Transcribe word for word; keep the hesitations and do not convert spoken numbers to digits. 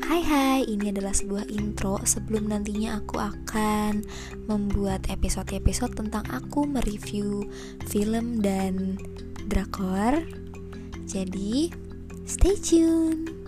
Hai hai, ini adalah sebuah intro sebelum nantinya aku akan membuat episode-episode tentang aku mereview film dan drakor. Jadi, stay tune.